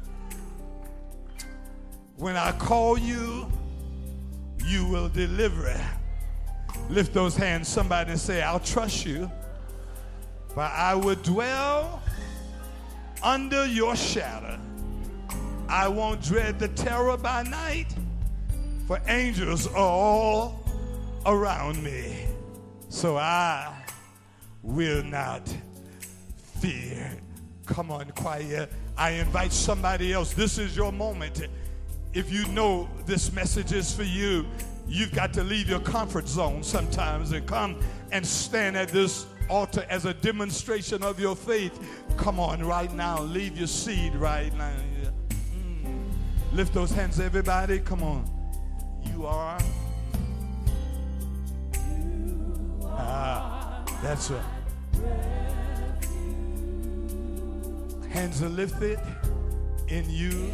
When I call you, you will deliver. Lift those hands, somebody, and say, I'll trust you. For I will dwell under your shadow. I won't dread the terror by night, for angels are all around me. So I will not fear. Come on, choir. I invite somebody else. This is your moment. If you know this message is for you, you've got to leave your comfort zone sometimes and come and stand at this altar as a demonstration of your faith. Come on right now. Leave your seat right now. Lift those hands, everybody. Come on. You are. That's right. Hands are lifted in you.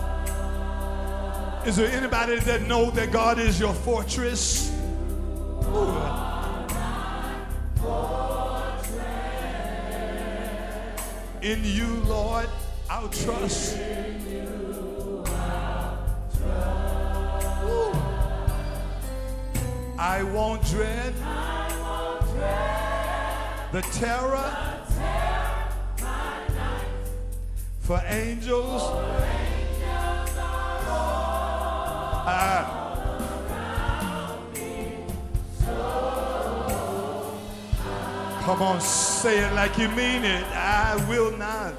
Is there anybody that know that God is your fortress? In you, Lord, I'll trust. Ooh. I won't dread the terror for angels. Come on, say it like you mean it. I will not.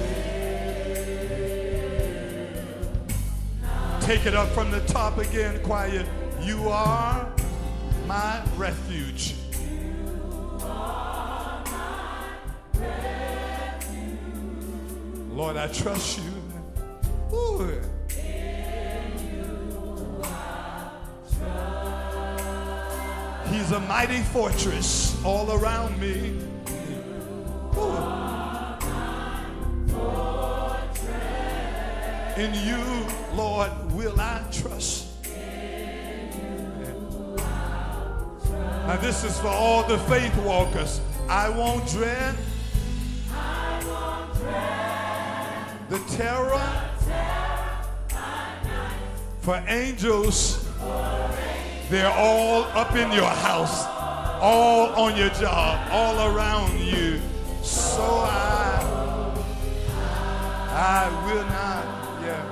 Take it up from the top again, choir. You are my refuge. Lord, I trust you. Ooh. He's a mighty fortress all around me. Ooh. In you, Lord, will I trust. Now this is for all the faith walkers. I won't dread the terror for angels. They're all up in your house, all on your job, all around you. So I will not, yeah.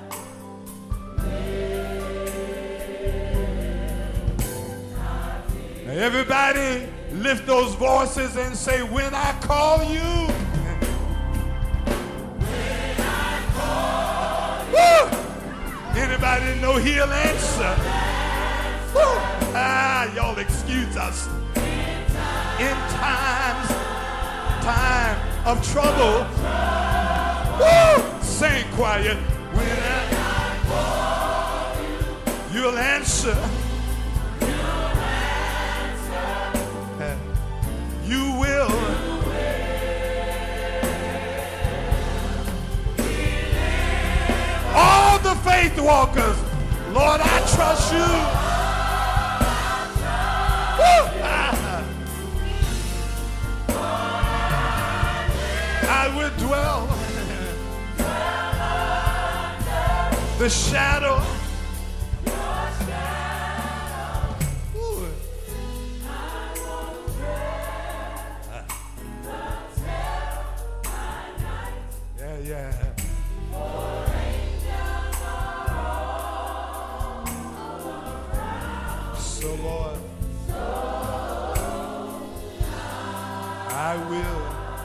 Now everybody lift those voices and say, when I call you. Woo! Anybody know he'll answer? Y'all excuse us. In time of trouble. Woo! Sing quiet. When you'll answer. You will. All the faith walkers, Lord, I trust you. I will dwell the shadow. Yeah. So Lord, I will.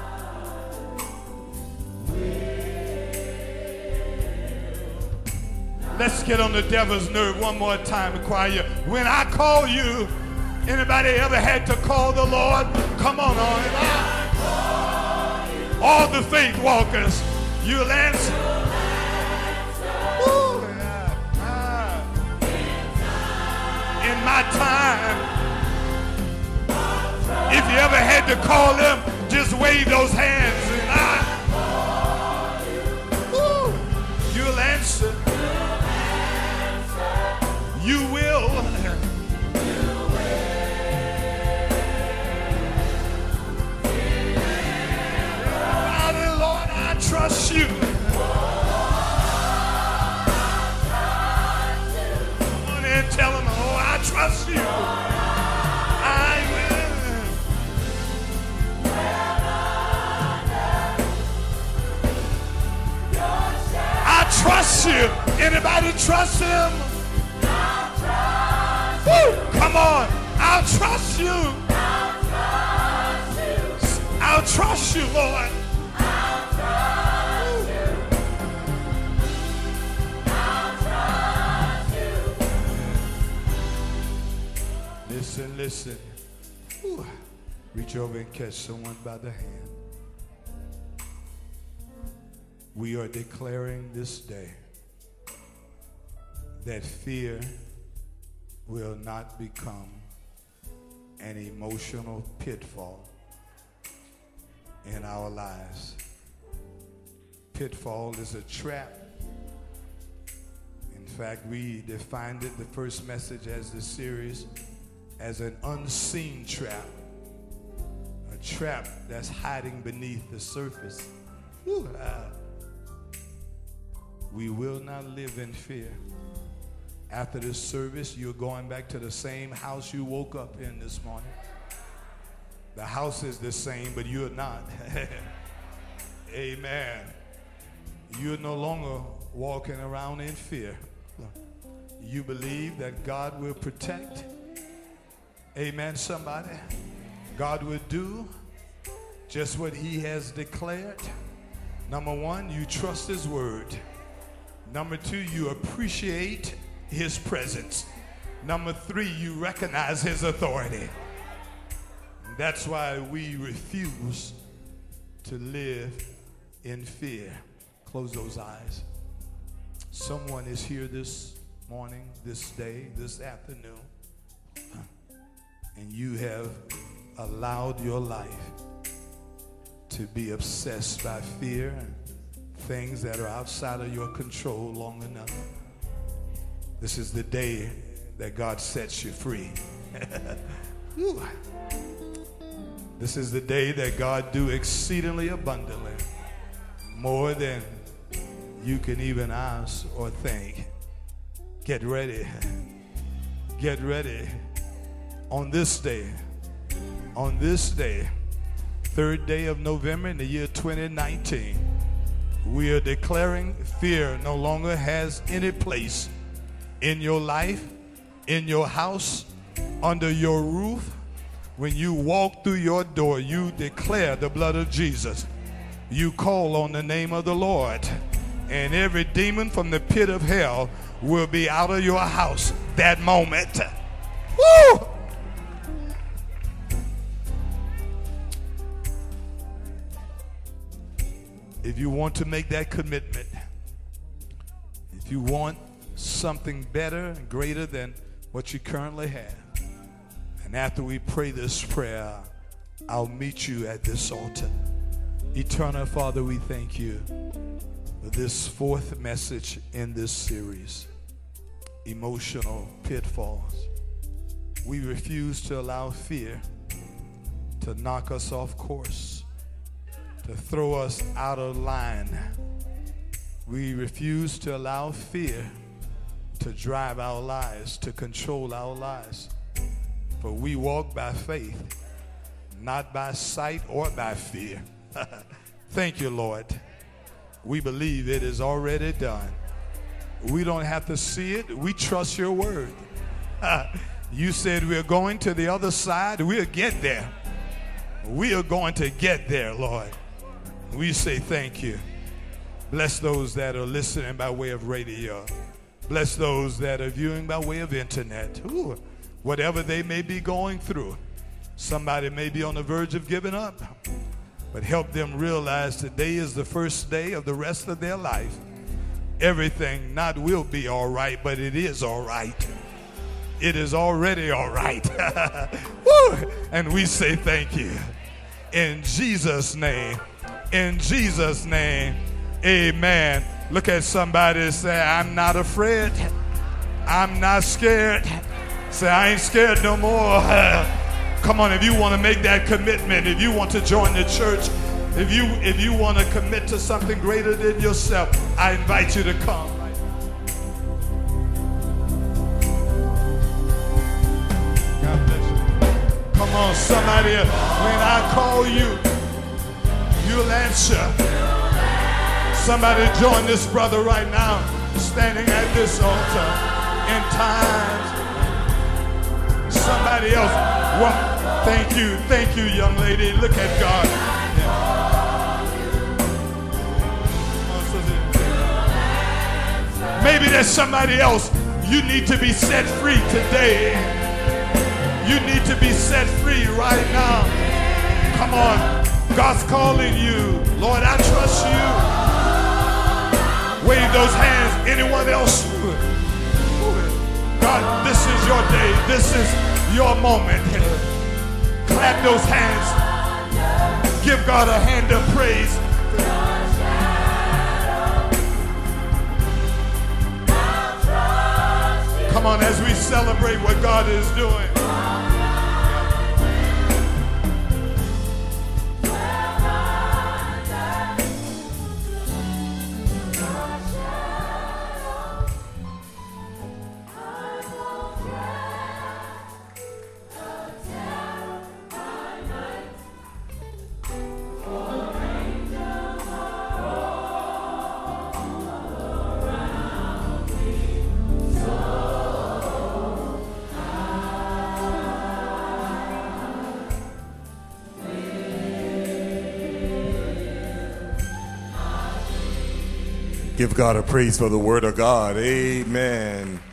Let's get on the devil's nerve one more time, choir. When I call you, anybody ever had to call the Lord? Come on. All the faith walkers, you'll answer. Ooh, in my time, if you ever had to call them, just wave those hands and you'll answer. You will. Lord, I trust you. Come on and tell him, oh, I trust you. I will. I trust you. Anybody trust him? Woo! Come on. I'll trust you. I'll trust you, Lord. Listen. Ooh. Reach over and catch someone by the hand. We are declaring this day that fear will not become an emotional pitfall in our lives. Pitfall is a trap. In fact, we defined it, the first message as the series, as an unseen trap, a trap that's hiding beneath the surface. We will not live in fear. After this service, you're going back to the same house you woke up in this morning. The house is the same, but you're not. Amen. You're no longer walking around in fear. You believe that God will protect. Amen, somebody. God will do just what he has declared. Number one, you trust his word. Number two, you appreciate his presence. Number three, you recognize his authority. That's why we refuse to live in fear. Close those eyes. Someone is here this morning, this day, this afternoon, and you have allowed your life to be obsessed by fear and things that are outside of your control long enough. This is the day that God sets you free. This is the day that God do exceedingly abundantly, more than you can even ask or think. Get ready. Get ready. On this day, 3rd day of November in the year 2019, we are declaring fear no longer has any place in your life, in your house, under your roof. When you walk through your door, you declare the blood of Jesus. You call on the name of the Lord, and every demon from the pit of hell will be out of your house that moment. Woo! If you want to make that commitment, if you want something better and greater than what you currently have, and after we pray this prayer, I'll meet you at this altar. Eternal Father, we thank you for this 4th message in this series, Emotional Pitfalls. We refuse to allow fear to knock us off course, to throw us out of line. We refuse to allow fear to drive our lives, to control our lives. For we walk by faith, not by sight or by fear. Thank you, Lord. We believe it is already done. We don't have to see it. We trust your word. You said we're going to the other side. We'll get there. We are going to get there, Lord. We say thank you. Bless those that are listening by way of radio. Bless those that are viewing by way of internet. Ooh, whatever they may be going through. Somebody may be on the verge of giving up, but help them realize today is the first day of the rest of their life. Everything not will be all right, but it is all right. It is already all right. Woo! And we say thank you. In Jesus' name. In Jesus' name. Amen. Look at somebody and say, I'm not afraid. I'm not scared. Say, I ain't scared no more. Come on, if you want to make that commitment, if you want to join the church, if you want to commit to something greater than yourself, I invite you to come. God bless you. Come on, somebody. When I call you, you'll answer. Somebody join this brother right now, standing at this altar in times. Somebody else. Well, thank you, young lady. Look at God. Yeah. Maybe there's somebody else. You need to be set free today. You need to be set free right now. Come on. God's calling you. Lord, I trust you. Wave those hands. Anyone else? God, this is your day. This is your moment. Clap those hands. Give God a hand of praise. Come on, as we celebrate what God is doing. Give God a praise for the word of God. Amen.